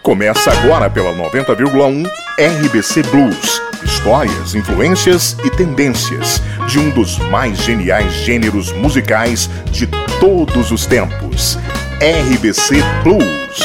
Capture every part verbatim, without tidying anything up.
Começa agora pela noventa vírgula um R B C Blues. Histórias, influências e tendências de um dos mais geniais gêneros musicais de todos os tempos. R B C Blues.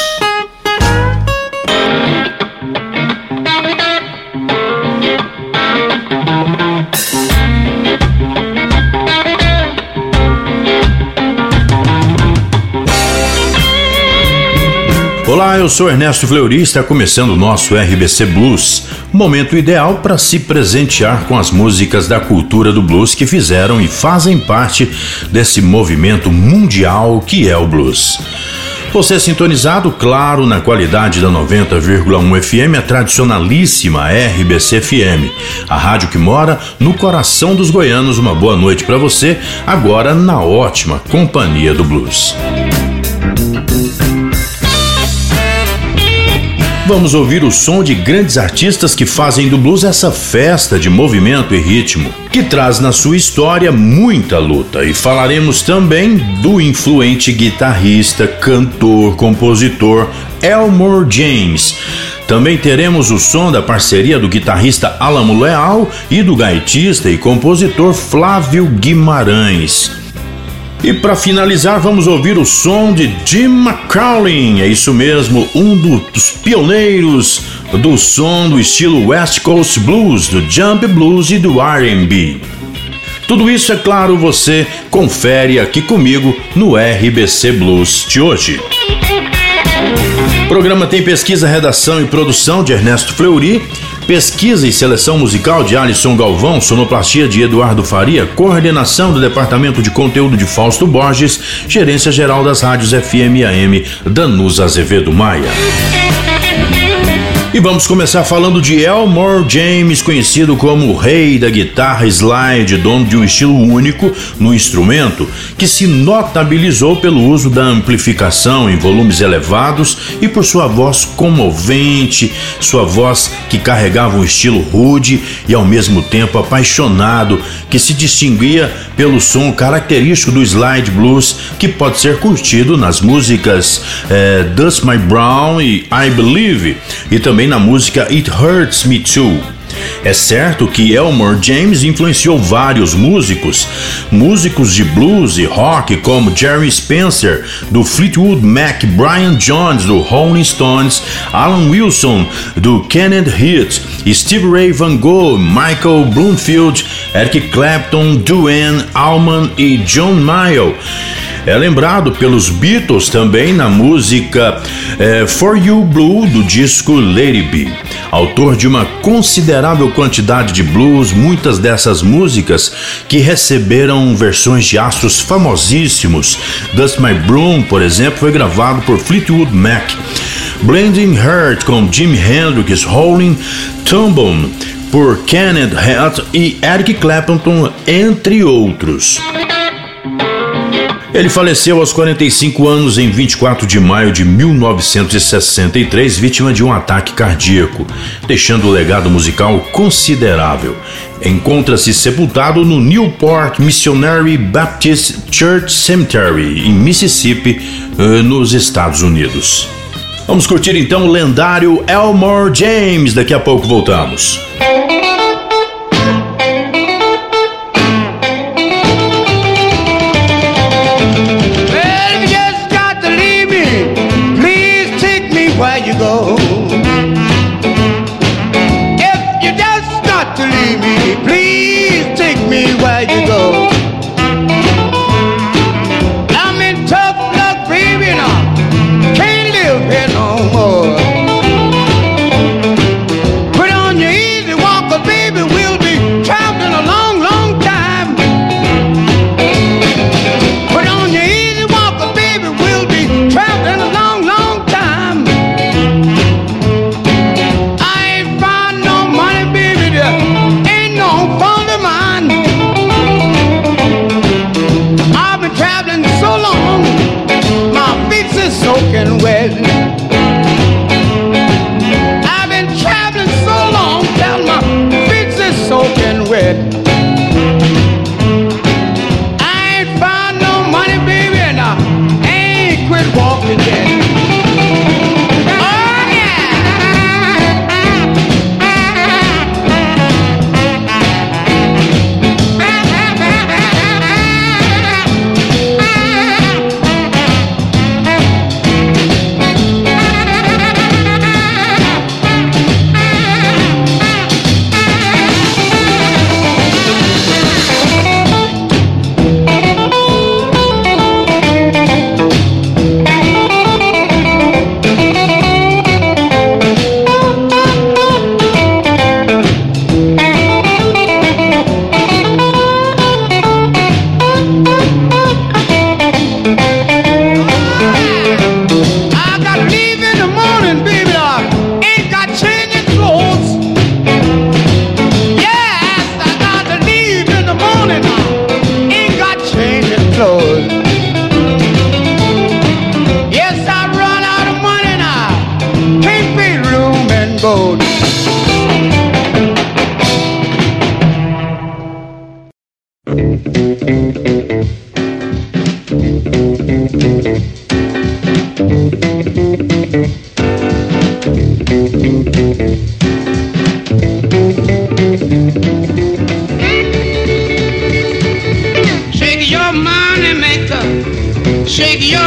Olá, eu sou Ernesto Fleury e está começando o nosso R B C Blues, momento ideal para se presentear com as músicas da cultura do blues que fizeram e fazem parte desse movimento mundial que é o blues. Você é sintonizado, claro, na qualidade da noventa vírgula um F M, a tradicionalíssima R B C F M, a rádio que mora no coração dos goianos. Uma boa noite para você, agora na ótima companhia do blues. Vamos ouvir o som de grandes artistas que fazem do blues essa festa de movimento e ritmo, que traz na sua história muita luta. E falaremos também do influente guitarrista, cantor, compositor Elmore James. Também teremos o som da parceria do guitarrista Alamo Leal e do gaitista e compositor Flávio Guimarães. E para finalizar, vamos ouvir o som de Jim McCauley, é isso mesmo, um dos pioneiros do som do estilo West Coast Blues, do Jump Blues e do R and B. Tudo isso, é claro, você confere aqui comigo no R B C Blues de hoje. O programa tem pesquisa, redação e produção de Ernesto Fleury, pesquisa e seleção musical de Alisson Galvão, sonoplastia de Eduardo Faria, coordenação do Departamento de Conteúdo de Fausto Borges, gerência geral das rádios F M e A M, Danusa Azevedo Maia. E vamos começar falando de Elmore James, conhecido como o rei da guitarra slide, dono de um estilo único no instrumento, que se notabilizou pelo uso da amplificação em volumes elevados e por sua voz comovente, sua voz que carregava um estilo rude e ao mesmo tempo apaixonado, que se distinguia pelo som característico do slide blues, que pode ser curtido nas músicas eh, Dust My Brown e I Believe, e também na música It Hurts Me Too. É certo que Elmore James influenciou vários músicos, músicos de blues e rock como Jerry Spencer, do Fleetwood Mac, Brian Jones, do Rolling Stones, Alan Wilson, do Kenneth Heat, Stevie Ray Van Gogh, Michael Bloomfield, Eric Clapton, Duane Allman e John Mayall. É lembrado pelos Beatles também na música eh, For You Blue, do disco Lady B. Autor de uma considerável quantidade de blues, muitas dessas músicas que receberam versões de astros famosíssimos. Dust My Broom, por exemplo, foi gravado por Fleetwood Mac. Blending Heart com Jimi Hendrix, Rolling Stone por Kenneth Heat e Eric Clapton, entre outros. Ele faleceu aos quarenta e cinco anos em vinte e quatro de maio de mil novecentos e sessenta e três, vítima de um ataque cardíaco, deixando um legado musical considerável. Encontra-se sepultado no Newport Missionary Baptist Church Cemetery, em Mississippi, nos Estados Unidos. Vamos curtir então o lendário Elmore James, daqui a pouco voltamos. Where you go? If you just got to leave me, please take me where you go. I'm in tough luck, baby, now can't live here no more. Put on your easy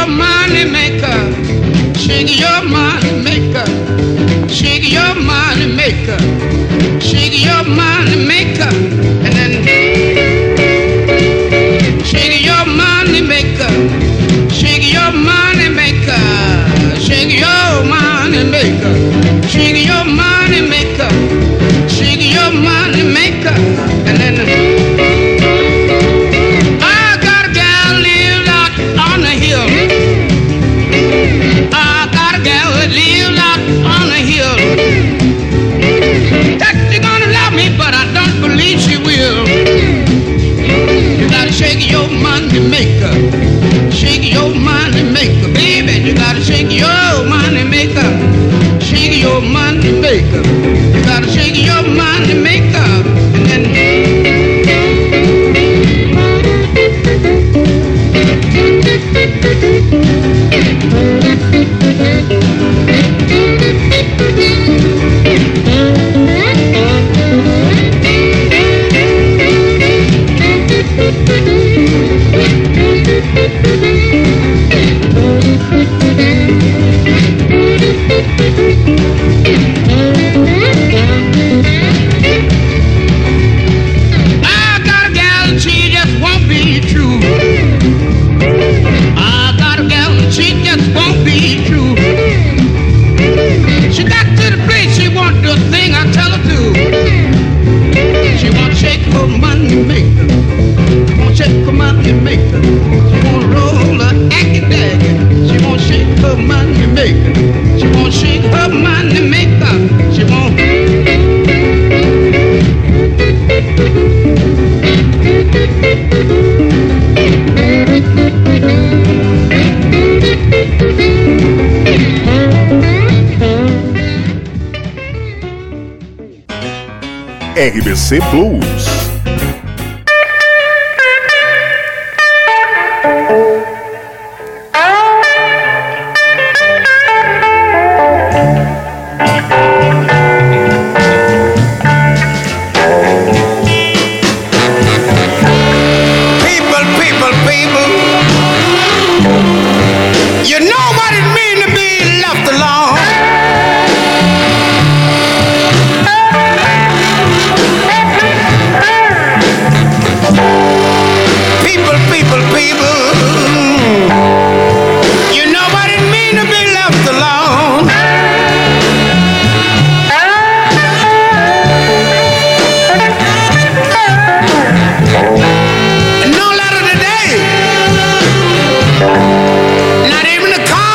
money maker. Shake your money maker. Shake your money maker. Shake your money maker. And then shake your money maker. Shake your money maker. Shake your money maker. Shake your money maker. Shake your money maker. And then I got a gal lives out on the hill. I got a gal that lives out on the hill. That she's gonna love me, but I don't believe she will. You gotta shake your money maker. Shake your money maker, baby. You gotta shake your money maker. Shake your money maker. You gotta shake your money maker. And then I got a gal, she just won't be true. I got a gal, she just won't be true. She got to the place she won't do a thing I tell her to. She won't shake her money maker. She won't shake her money maker. She won't roll her aggy daggy. She won't shake her money maker. She won't shake her money maker. She won't. R B C Blues. People, people, people. You know what it means to be left alone. People, people, people. You know what it means to be left alone. And no letter today. Not even a call.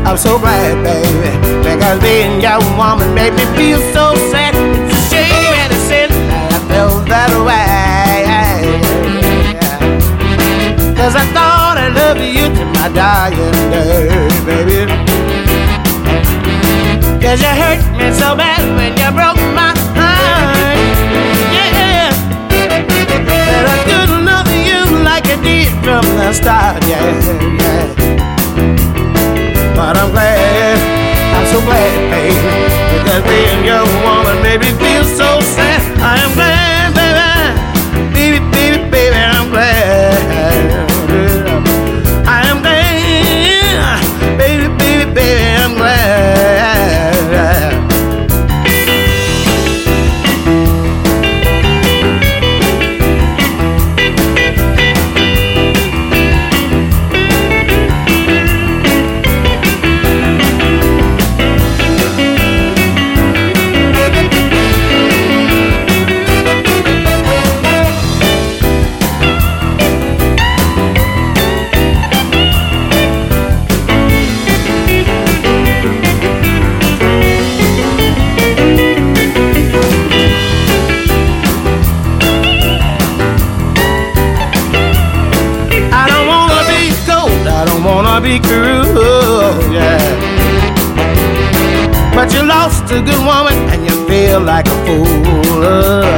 I'm so glad, baby, because being your woman made me feel so sad. It's a shame and a sin that I felt that way. Cause I thought I loved you to my dying day, baby. Cause you hurt me so bad when you broke my heart. Yeah, that I couldn't love you like I did from the start. Yeah, yeah. But I'm glad, I'm so glad, baby, because being your woman made me feel so sad. I am glad, baby, baby, baby, baby, I'm glad. I am glad, baby, baby, baby, I'm glad. Be cruel, yeah. But you lost a good woman and you feel like a fool. uh.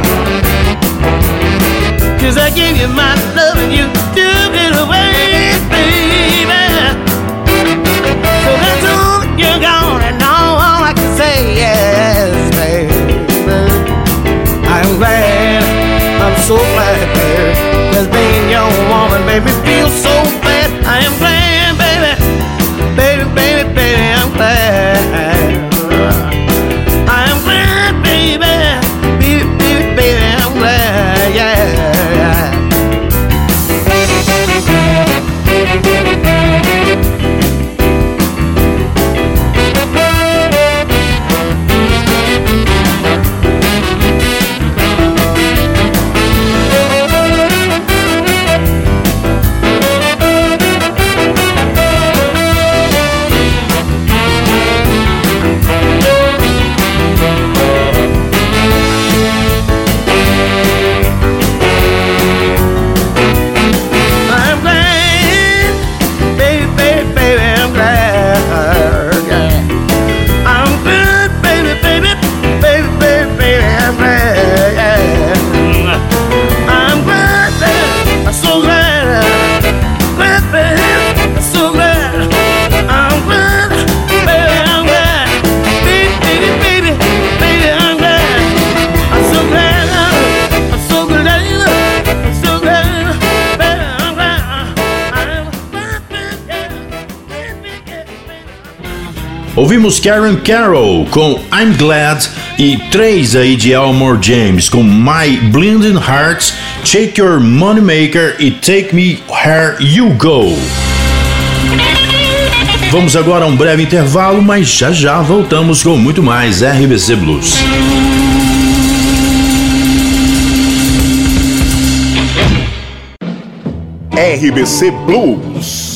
Cause I gave you my love and you took it away, baby. So that's all you're gone and all, all I can say is, baby, I'm glad, I'm so glad, baby, cause being your woman made me feel so bad. I am glad, baby, baby, baby, I'm glad. I'm glad, baby, baby, baby, baby, I'm glad, yeah. Ouvimos Karen Carroll com I'm Glad e três aí de Elmore James com My Blinding Hearts, Shake Your Moneymaker e Take Me Where You Go. Vamos agora a um breve intervalo, mas já já voltamos com muito mais R B C Blues. R B C Blues.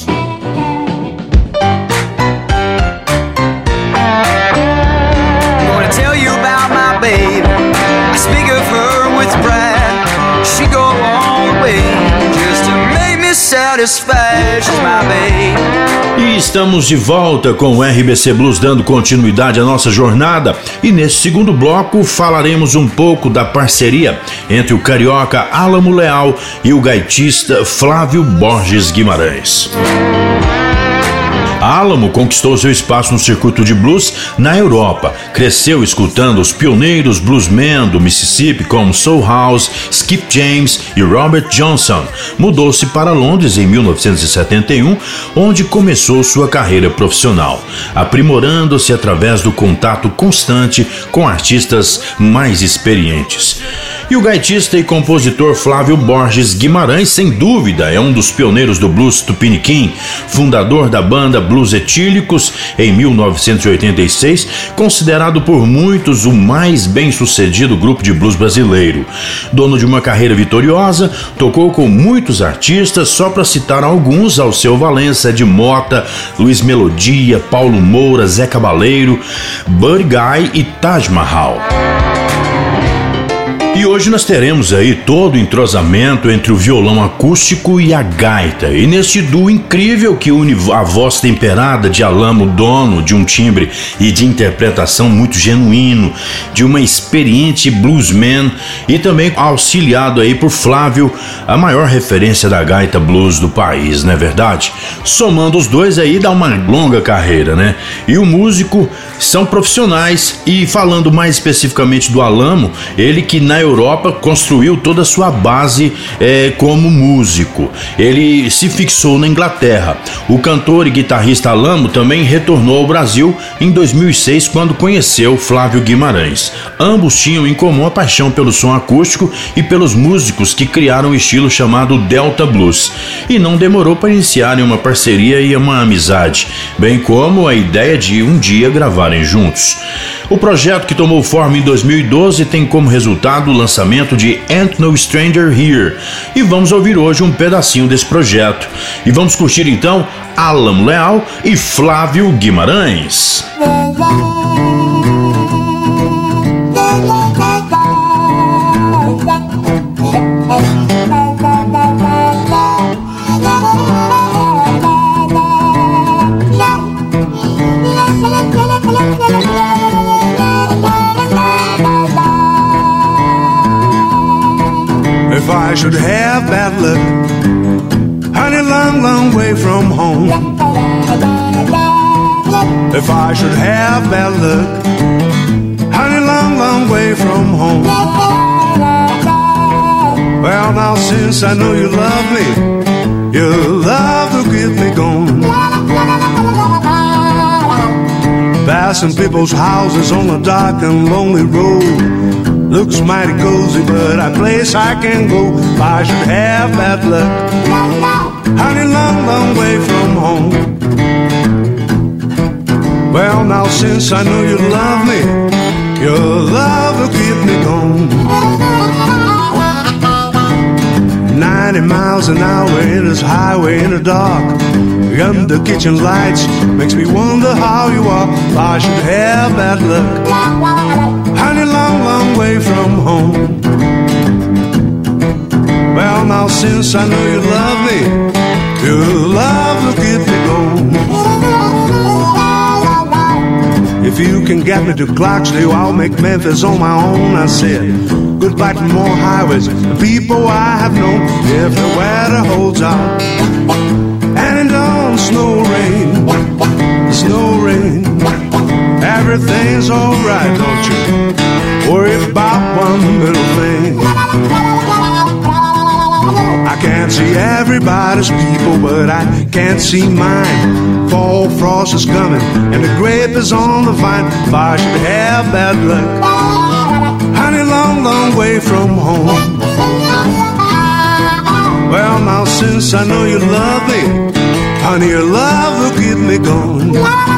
E estamos de volta com o R B C Blues, dando continuidade à nossa jornada, e nesse segundo bloco falaremos um pouco da parceria entre o carioca Álamo Leal e o gaitista Flávio Borges Guimarães. Álamo conquistou seu espaço no circuito de blues na Europa. Cresceu escutando os pioneiros bluesmen do Mississippi como Soul House, Skip James e Robert Johnson. Mudou-se para Londres em mil novecentos e setenta e um, onde começou sua carreira profissional, aprimorando-se através do contato constante com artistas mais experientes. E o gaitista e compositor Flávio Borges Guimarães, sem dúvida, é um dos pioneiros do blues tupiniquim, fundador da banda Blues Blues Etílicos em mil novecentos e oitenta e seis, considerado por muitos o mais bem-sucedido grupo de blues brasileiro. Dono de uma carreira vitoriosa, tocou com muitos artistas, só para citar alguns: Alceu Valença, Ed Mota, Luiz Melodia, Paulo Moura, Zé Cabaleiro, Buddy Guy e Taj Mahal. E hoje nós teremos aí todo o entrosamento entre o violão acústico e a gaita. E neste duo incrível que une a voz temperada de Alamo, dono de um timbre e de interpretação muito genuíno, de uma experiente bluesman, e também auxiliado aí por Flávio, a maior referência da gaita blues do país, não é verdade? Somando os dois aí dá uma longa carreira, né? E o músico são profissionais, e falando mais especificamente do Alamo, ele que na Europa construiu toda a sua base é, como músico. Ele se fixou na Inglaterra. O cantor e guitarrista Alamo também retornou ao Brasil em dois mil e seis, quando conheceu Flávio Guimarães. Ambos tinham em comum a paixão pelo som acústico e pelos músicos que criaram um estilo chamado Delta Blues. E não demorou para iniciarem uma parceria e uma amizade, bem como a ideia de um dia gravarem juntos. O projeto, que tomou forma em dois mil e doze, tem como resultado o lançamento de Ain't No Stranger Here, e vamos ouvir hoje um pedacinho desse projeto. E vamos curtir então Alamo Leal e Flávio Guimarães. If I should have bad luck, honey, long, long way from home. If I should have bad luck, honey, long, long way from home. Well, now since I know you love me, your love will get me gone. Passing people's houses on a dark and lonely road. Looks mighty cozy, but a place I can go if I should have bad luck. Honey, long, long way from home. Well, now since I know you love me, your love will keep me gone. Ninety miles an hour in this highway in the dark, under kitchen lights, makes me wonder how you are if I should have bad luck. Honey, long, long way from home. Well, now since I know you love me, your love will get me gone. If you can get me to Clarksdale, I'll make Memphis on my own. I said goodbye to more highways, the people I have known, if the weather holds out. And it don't snow rain, snow rain, everything's alright, don't you worry about one little thing. I can't see everybody's people, but I can't see mine. Fall frost is coming and the grape is on the vine. If I should have bad luck, honey, long, long way from home. Well, now since I know you love me, honey, your love will keep me going.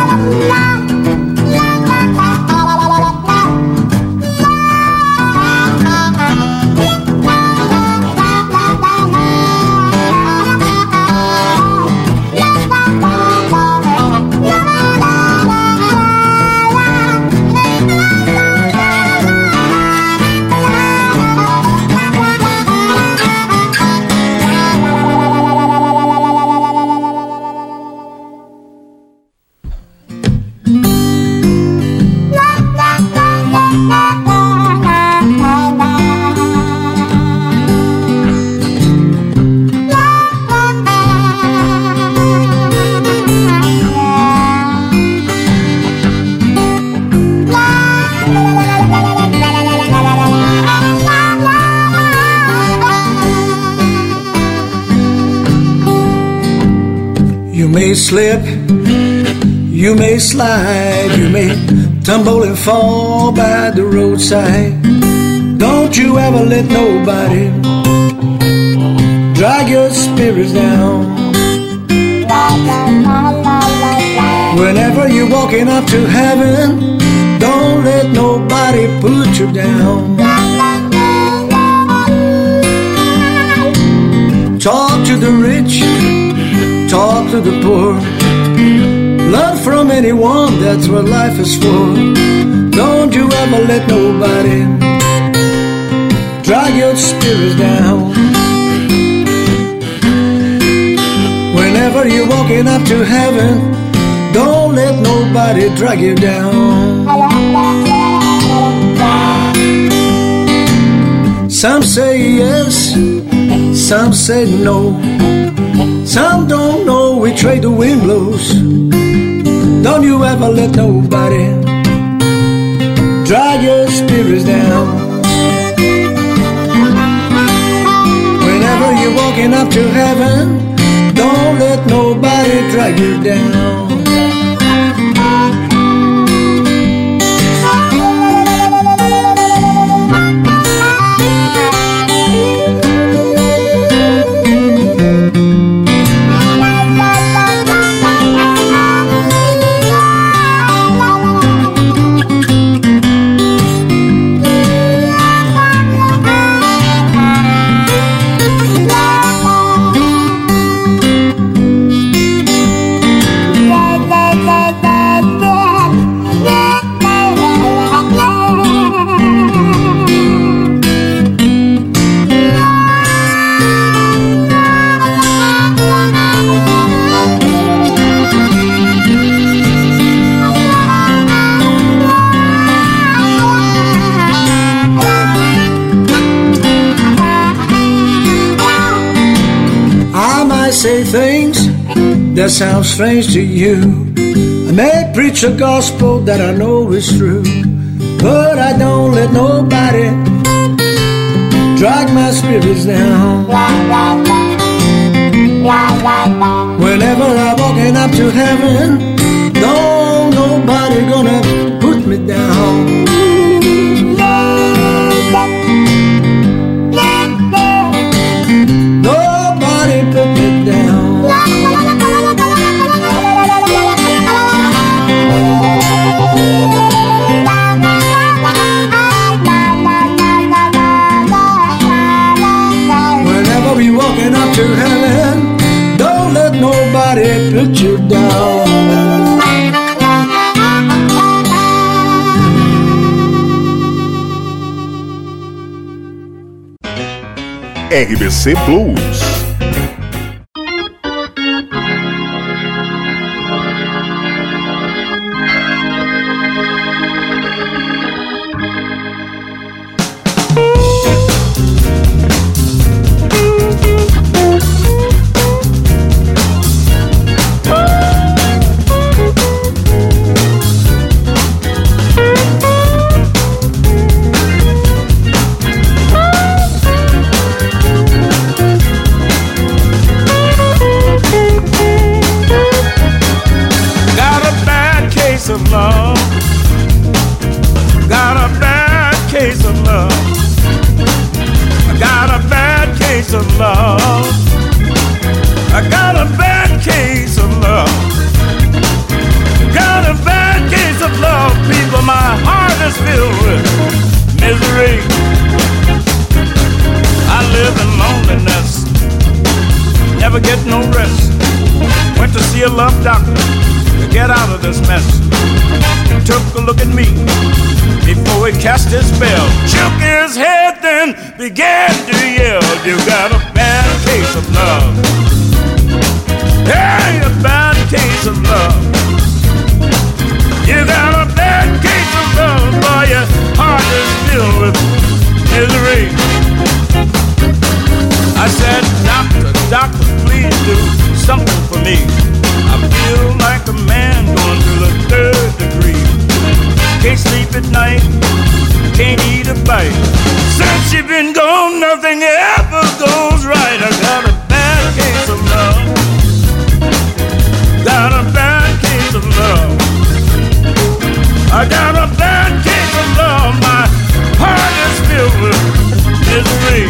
You may slip, you may slide, you may tumble and fall by the roadside. Don't you ever let nobody drag your spirits down. Whenever you're walking up to heaven, don't let nobody put you down. Talk to the rich, talk to the poor. Learn from anyone, that's what life is for. Don't you ever let nobody drag your spirits down. Whenever you're walking up to heaven, don't let nobody drag you down. Some say yes, some say no. Some don't know which way the wind blows. Don't you ever let nobody drag your spirits down. Whenever you're walking up to heaven, don't let nobody drag you down. Say things that sound strange to you. I may preach a gospel that I know is true, but I don't let nobody drag my spirits down. Whenever I'm walking up to heaven, don't nobody gonna put me down. Nobody put me down. Whenever we walking up to heaven, don't let nobody put you down. R B C Blues. Cast his spell, shook his head, then began to yell. You got a bad case of love. Hey, a bad case of love. You got a bad case of love, boy, your heart is filled with misery. I said, doctor, doctor, please do something for me. I feel like a man going through the third degree. Can't sleep at night, can't eat a bite. Since you've been gone, nothing ever goes right. I got a bad case of love. Got a bad case of love. I got a bad case of love. My heart is filled with misery.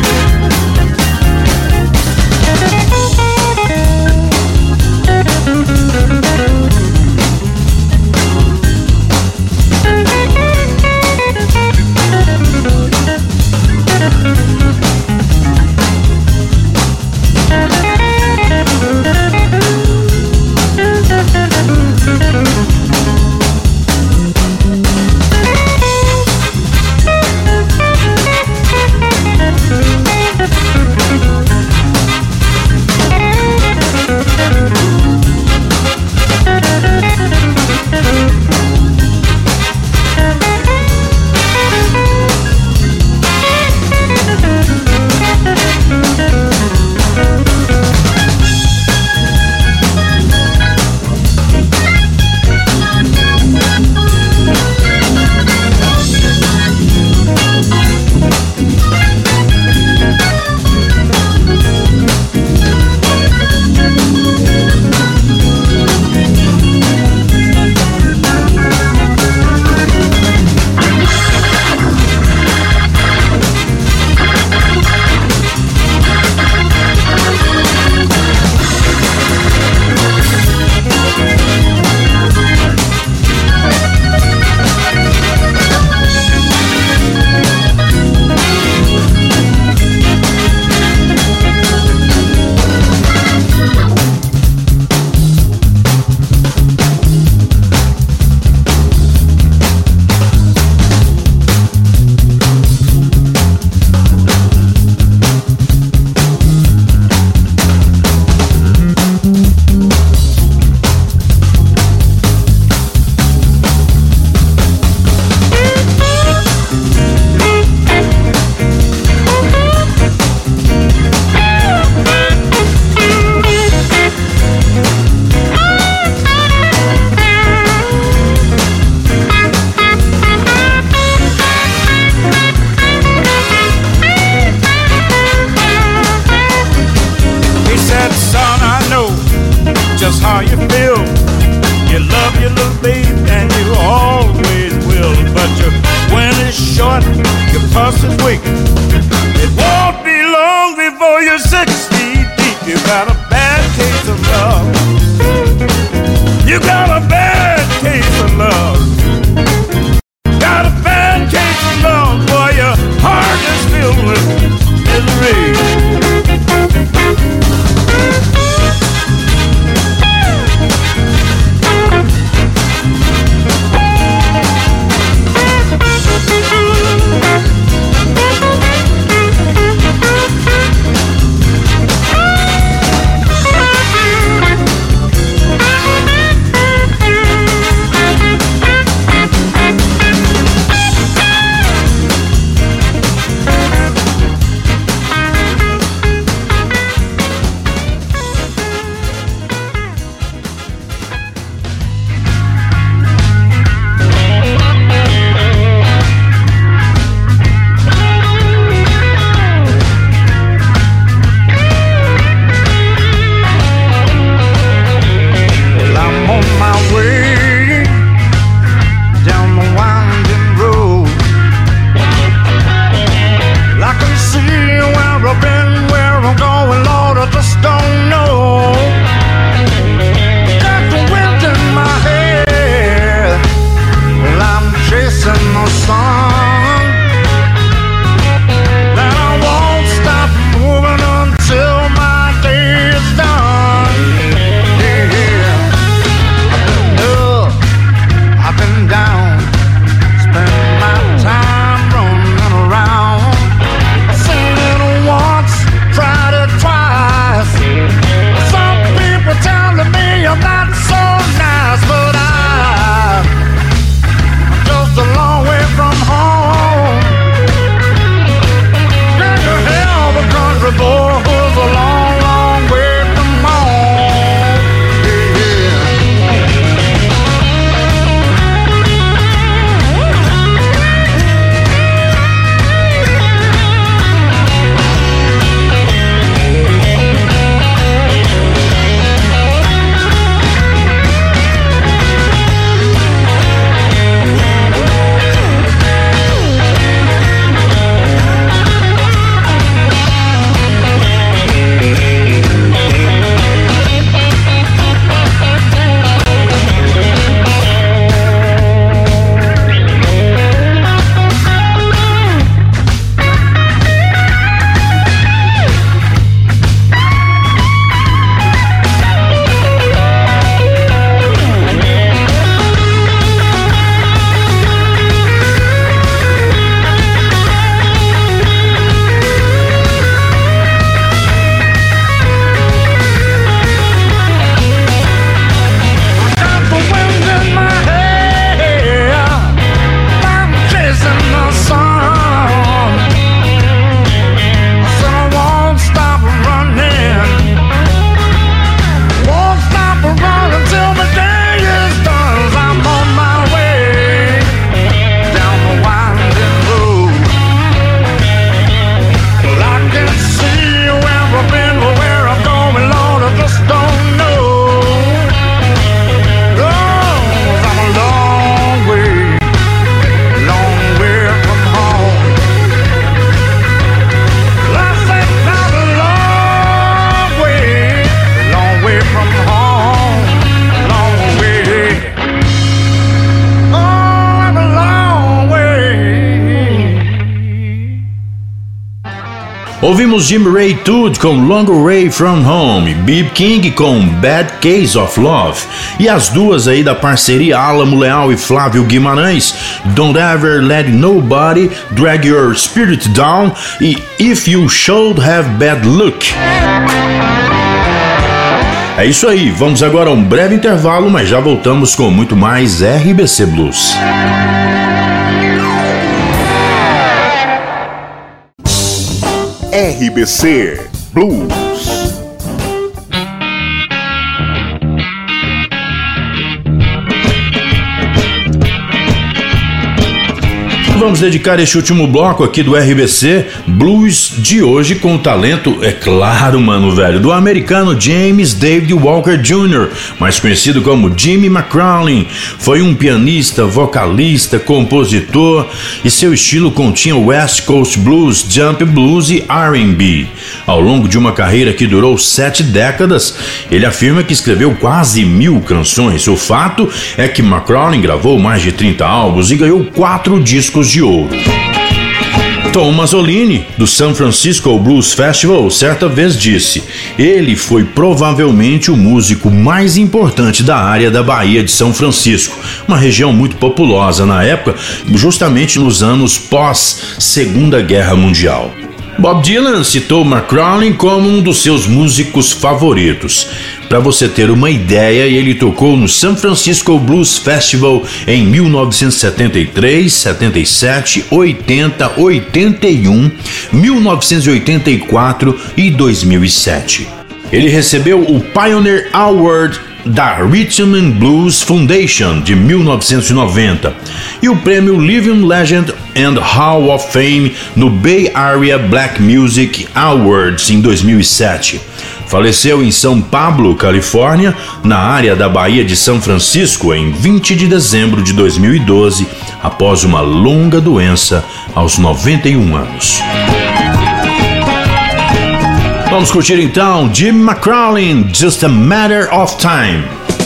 you, little babe, and you always will. But your wind is short, your pulse is weak. It won't be long before you're six feet deep. You got a bad case of love. You got a bad case of love. Got a bad case of love, boy, your heart is filled with misery. Ouvimos Jim Ray Todd com Long Way From Home, B B King com Bad Case of Love e as duas aí da parceria Alamo Leal e Flávio Guimarães, Don't Ever Let Nobody Drag Your Spirit Down e If You Should Have Bad Luck. É isso aí, vamos agora a um breve intervalo, mas já voltamos com muito mais R B C Blues. R B C Blues. Vamos dedicar este último bloco aqui do R B C Blues de hoje com o talento, é claro, mano, velho, do americano James David Walker Júnior, mais conhecido como Jimmy McCrowlin. Foi um pianista, vocalista, compositor e seu estilo continha West Coast Blues, Jump Blues e R and B. Ao longo de uma carreira que durou sete décadas, ele afirma que escreveu quase mil canções. O fato é que McCrowlin gravou mais de trinta álbuns e ganhou quatro discos de ouro. Tom Mazzolini, do San Francisco Blues Festival, certa vez disse: ele foi provavelmente o músico mais importante da área da Baía de São Francisco, uma região muito populosa na época, justamente nos anos pós-Segunda Guerra Mundial. Bob Dylan citou McCrowlin como um dos seus músicos favoritos. Para você ter uma ideia, ele tocou no San Francisco Blues Festival em mil novecentos e setenta e três, setenta e sete, oitenta, oitenta e um, mil novecentos e oitenta e quatro e dois mil e sete. Ele recebeu o Pioneer Award da Rhythm and Blues Foundation de mil novecentos e noventa e o prêmio Living Legend and Hall of Fame no Bay Area Black Music Awards em dois mil e sete. Faleceu em São Pablo, Califórnia, na área da Baía de São Francisco, em vinte de dezembro de dois mil e doze, após uma longa doença aos noventa e um anos. Vamos curtir então Jim McCrowlin, Just a Matter of Time.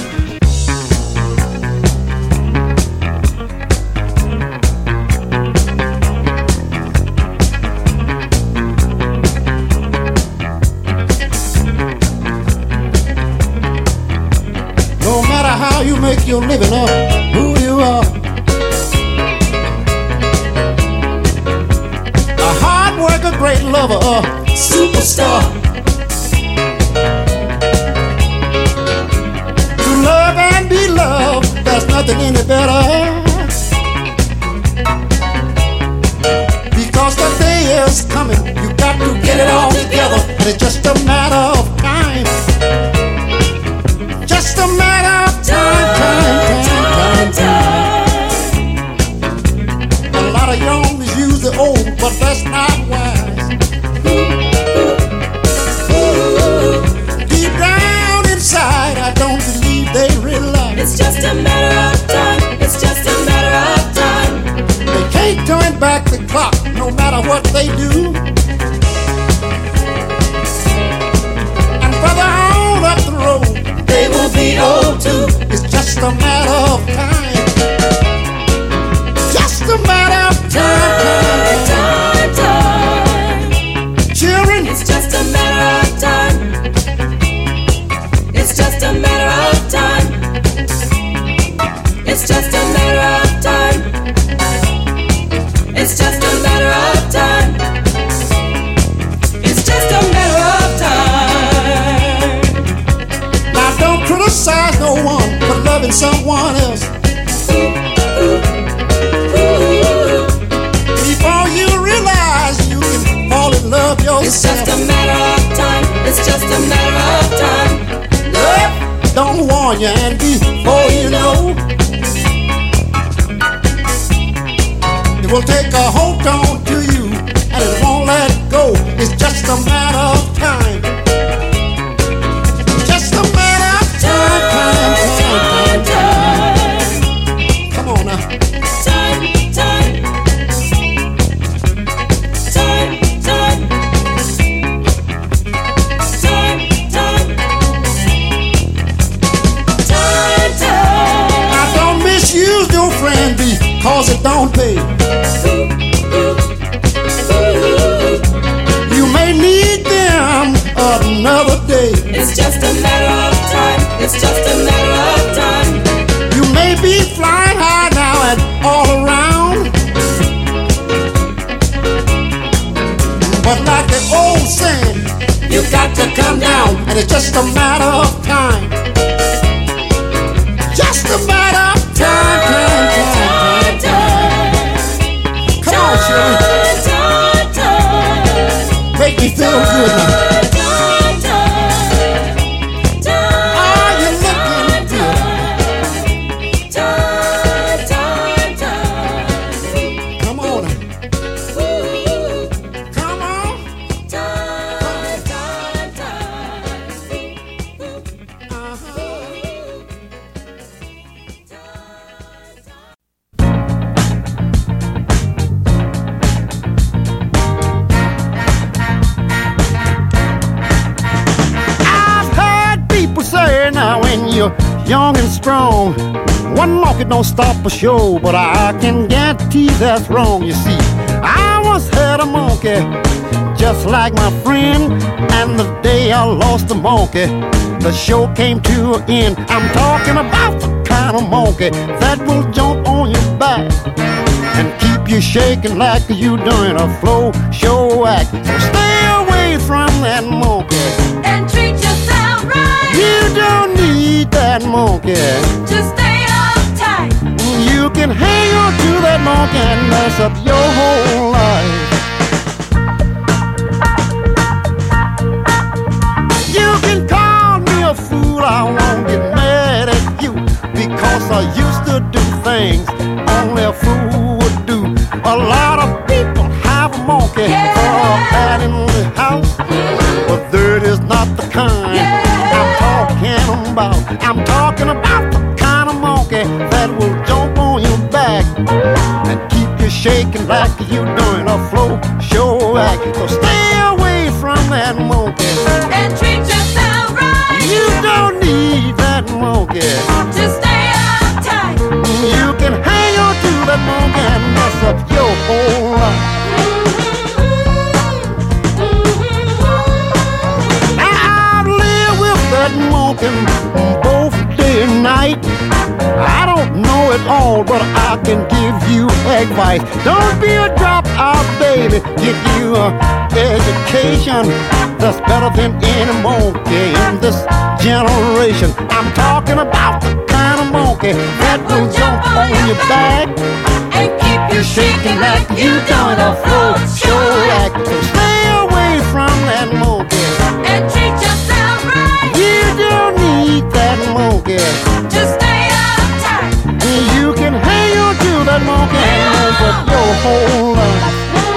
No matter how you make your living or who you are, a hard worker, great lover, or superstar. To love and be loved, there's nothing any better. Because the day is coming, you got to get it all together, and it's just a matter of time. Just a matter of time, time, time, time, time. A lot of youngsters use the old, but that's not wise. Deep down inside, I don't believe they realize it's just a matter of time. It's just a matter of time. They can't turn back the clock, no matter what they do. And further on up the road, they will be old too. It's just a matter of time. Just a matter of time. Time, time, time. Children, it's just a matter of time. It's just a matter of time. It's just a matter of time. It's just a matter of time. It's just a matter of time. Now don't criticize no one for loving someone else. Before you realize you can fall in love yourself. It's just a matter of time. It's just a matter of time. Love don't warn you, and before you know, it will take a hold on to you, and it won't let go. It's just a matter of time. Just a matter of time, time, time, time. Come on now. Time, time. Time, time. Time, time. Time, time. Now don't misuse your friend because it don't pay. You may need them another day. It's just a matter of time. It's just a matter of time. You may be flying high now and all around, but like the old saying, you got to come down, and it's just a matter of time. Just a matter of time, time, time, time. Come on, Shirley. Make me feel good now. Come on. young and strong. One monkey don't stop a show, but I can guarantee that's wrong. You see, I once had a monkey just like my friend, and the day I lost the monkey, the show came to an end. I'm talking about the kind of monkey that will jump on your back and keep you shaking like you doing a flow show act. So stay away from that monkey and treat yourself right. You don't need that monkey. Just stay uptight. You can hang on to that monkey and mess up your whole life. You can call me a fool, I won't get mad at you, because I used to do things only a fool would do. A lot of people have a monkey yeah. for that in the house, but that is not the kind yeah. I'm talking about. I'm talking about the kind of monkey that will jump on your back and keep you shaking like you doing a flow show act. So stay away from that monkey and treat yourself right. You don't need that monkey. Just stay uptight. You can hang on to that monkey and mess up your whole life. I've lived with that monkey both day and night. I don't know it all, but I can give you advice. Don't be a drop-out baby. Get you an education that's better than any monkey in this generation. I'm talking about the kind of monkey that will jump on your back and keep you shaking like you doing a flow show act. So stay away from that monkey and treat yourself right. You don't need that monkey. Just stay uptight. You can hang on to that monkey and mess up your whole life.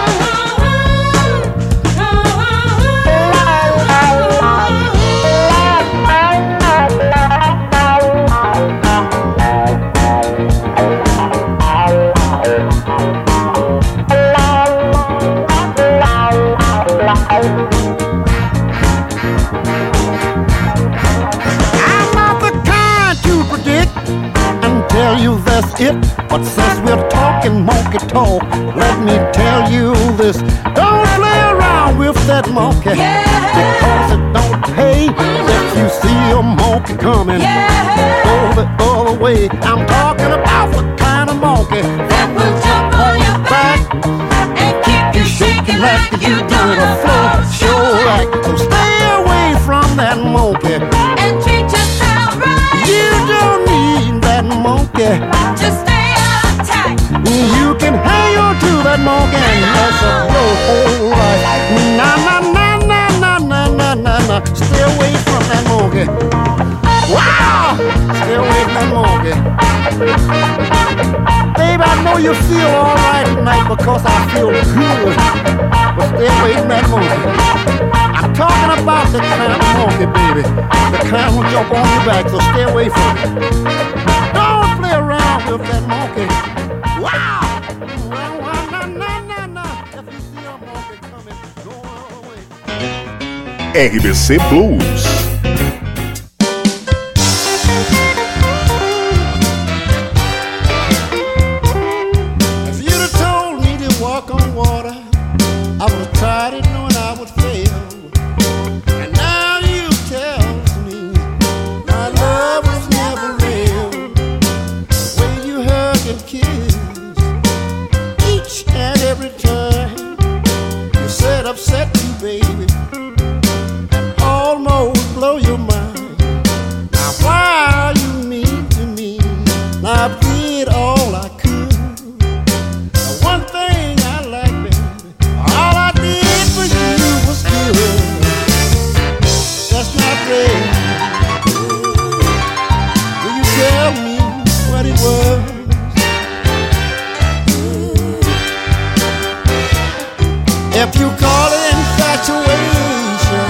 Tell you that's it, but since we're talking monkey talk, let me tell you this: don't play around with that monkey, yeah. because it don't pay. If you see a monkey coming, yeah. go the other way. I'm talking about the kind of monkey that will jump on your back and keep you shaking like you doing a flow show act. So stay away from that monkey and treat yourself right. You don't need that monkey. Just stay uptight. You can hang on to that monkey and mess up your whole life. Nah, nah, nah, nah, nah, nah, nah, nah, nah. Stay away from that monkey. Wow! Stay away from that monkey. Babe, I know you feel all right tonight because I feel good. But stay away from that monkey. I'm talking about the kind of monkey, baby. The kind will jump on your back, so stay away from it. Don't play around with that monkey. Wow! R B C Blues. If you'd have told me to walk on water, I would have tried it knowing I would fail. And now you tell me my love was never real. The way you hug and kiss each and every time, you said upset me, baby, and almost blow your mind. Now why are you mean to me? Now I did all I could. The one thing I like, baby, all I did for you was good. That's not real. Will you tell me what it was? If you call it infatuation,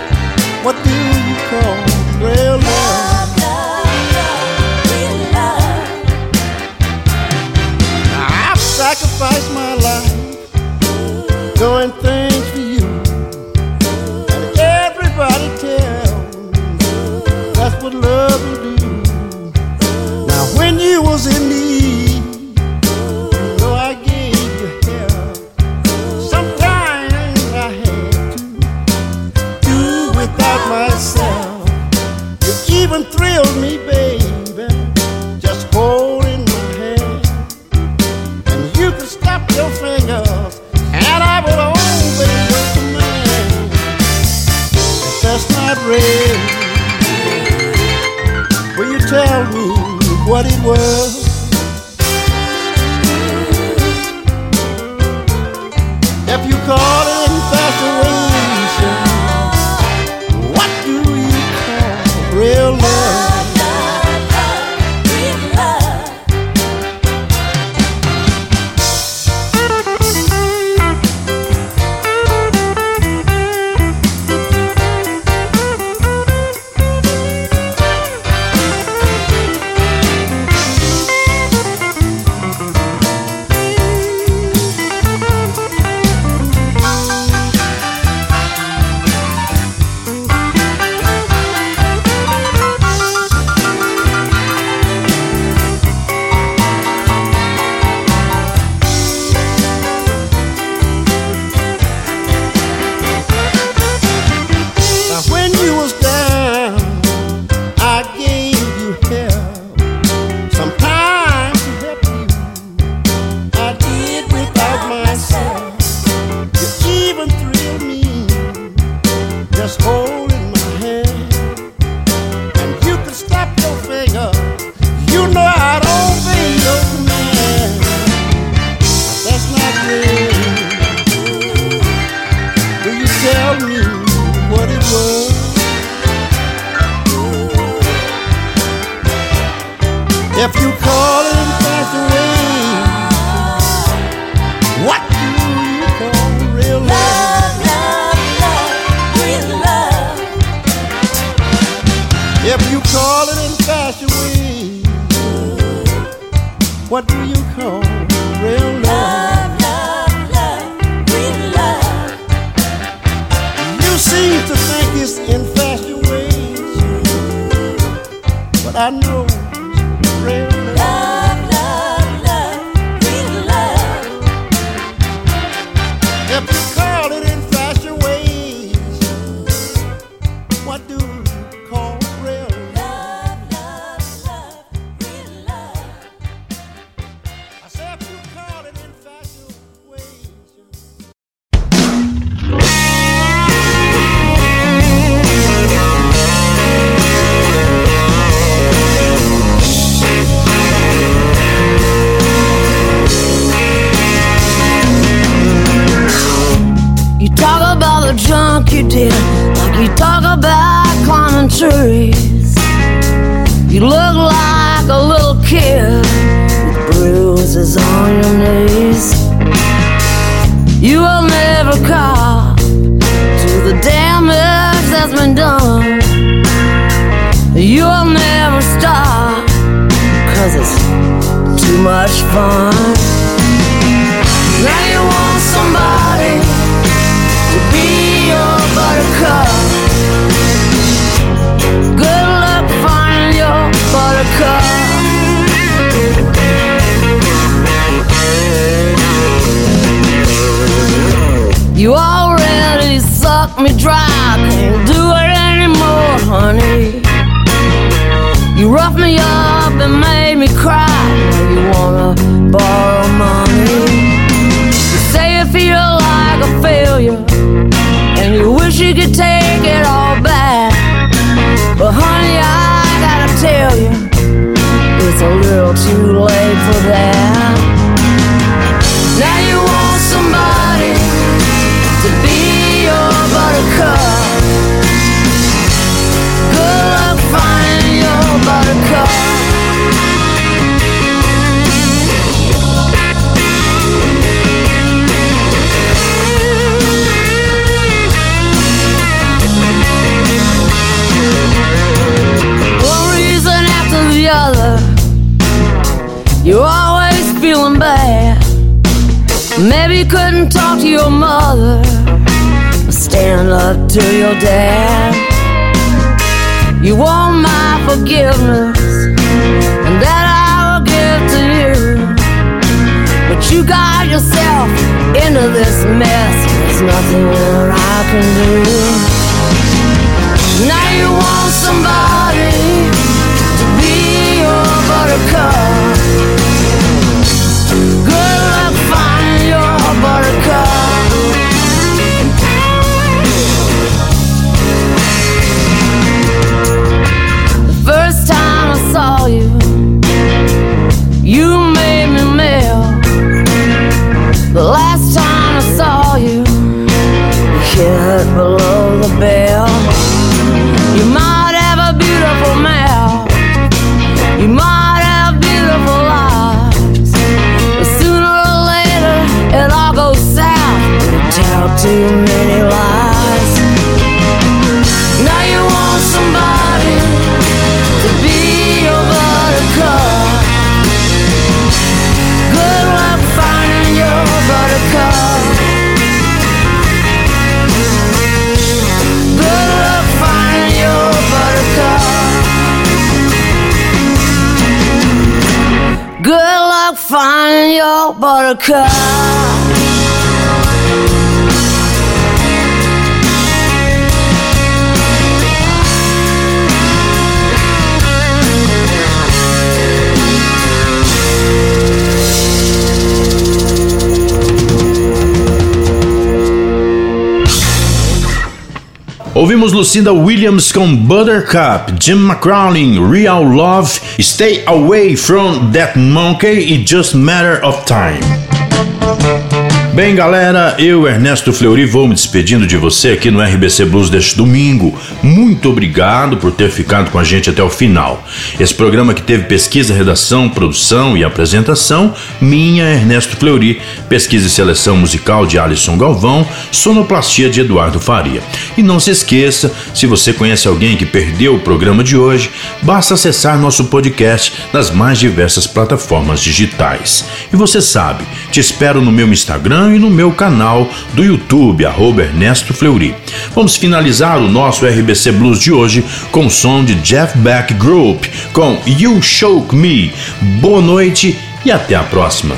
what do you call real love? Love, love, real love. when you was in need, though I gave you help, sometimes I had to do without myself. You even thrilled me, baby, just holding my hand. And you could snap your fingers and I would obey your command. If that's not real, will you tell me what it was? If you call it infatuation, what do you call real love? If you call it infatuation, what do you call real love? Love, love, real love. If you call it infatuation, what do you call real love? Love, love, real love. You seem to think it's infatuation, but I know real love, love, love, real love. If you call it infatuation, what do you call real love? Love, love, real love. I said if you call it infatuation. Talk about the junk you did, like you talk about climbing trees. You look like a little kid with bruises on your knees. You will never cop to the damage that's been done. You will never stop, cause it's too much fun. Now you want somebody to be your buttercup. Good luck finding your buttercup. You already sucked me dry, can't do it anymore, honey. You roughed me up and made me cry. Now you wanna borrow money. You say you feel like a failure and you wish you could take it all back, but honey, I gotta tell you, it's a little too late for that. Now you want somebody to be your buttercup. Good luck finding your buttercup. You're always feeling bad. Maybe you couldn't talk to your mother or stand up to your dad. You want my forgiveness and that I nothing that I can do. Now you want somebody to be your buttercup. Good luck finding your buttercup. The first time I saw you, you made me melt. The last time I saw you, you hit below the belt. You might have a beautiful mouth, you might have beautiful eyes, but sooner or later it all goes south. You tell too many lies. Now you want somebody to be your buttercup. Good luck finding your buttercup. Good luck finding your buttercup. Good luck finding your buttercup. Ouvimos Lucinda Williams com Buttercup, Jim McCrowley, Real Love, Stay Away From That Monkey e Just Matter of Time. Bem, galera, eu, Ernesto Fleury, vou me despedindo de você aqui no R B C Blues deste domingo. Muito obrigado por ter ficado com a gente até o final. Esse programa que teve pesquisa, redação, produção e apresentação, minha, Ernesto Fleury, pesquisa e seleção musical de Alisson Galvão, sonoplastia de Eduardo Faria. E não se esqueça, se você conhece alguém que perdeu o programa de hoje, basta acessar nosso podcast nas mais diversas plataformas digitais. E você sabe, te espero no meu Instagram e no meu canal do YouTube, arroba Ernesto Fleury. Vamos finalizar o nosso R B C Blues de hoje com o som de Jeff Beck Group, com You Shook Me. Boa noite e até a próxima.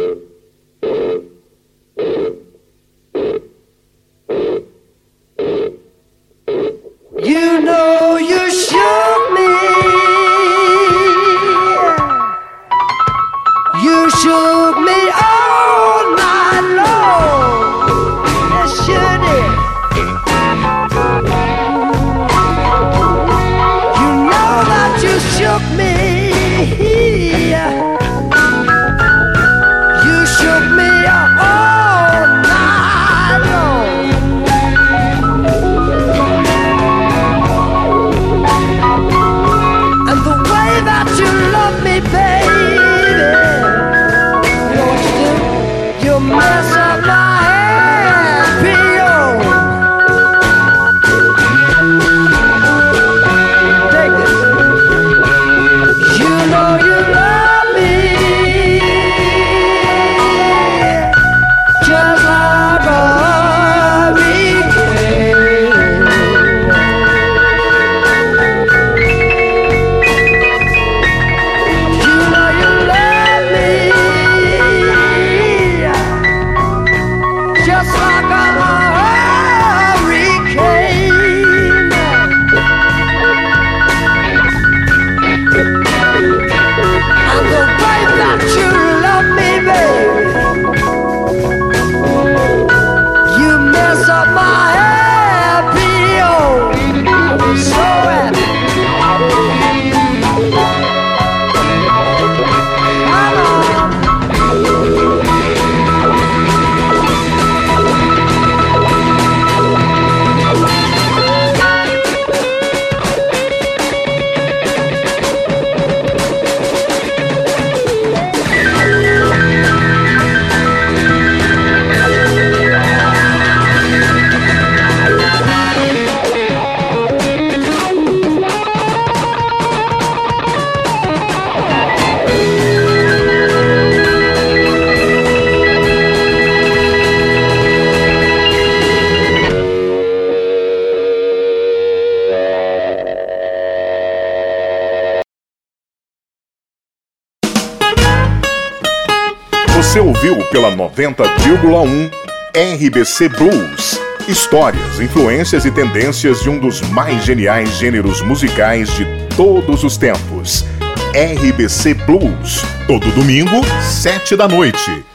You know you shook me. You shook me all night long. Yes, you did. You know that you shook me. You shook me all night long. And the way that you love me, baby, you know what you do? You mess up my happy home. Take this. You know you love me just like a hurricane. You know you love me just like a hurricane. And the way that you love me, baby, you mess up my happy home. So happy. Come on. Você ouviu pela noventa vírgula um R B C Blues. Histórias, influências e tendências de um dos mais geniais gêneros musicais de todos os tempos. R B C Blues, todo domingo, sete da noite.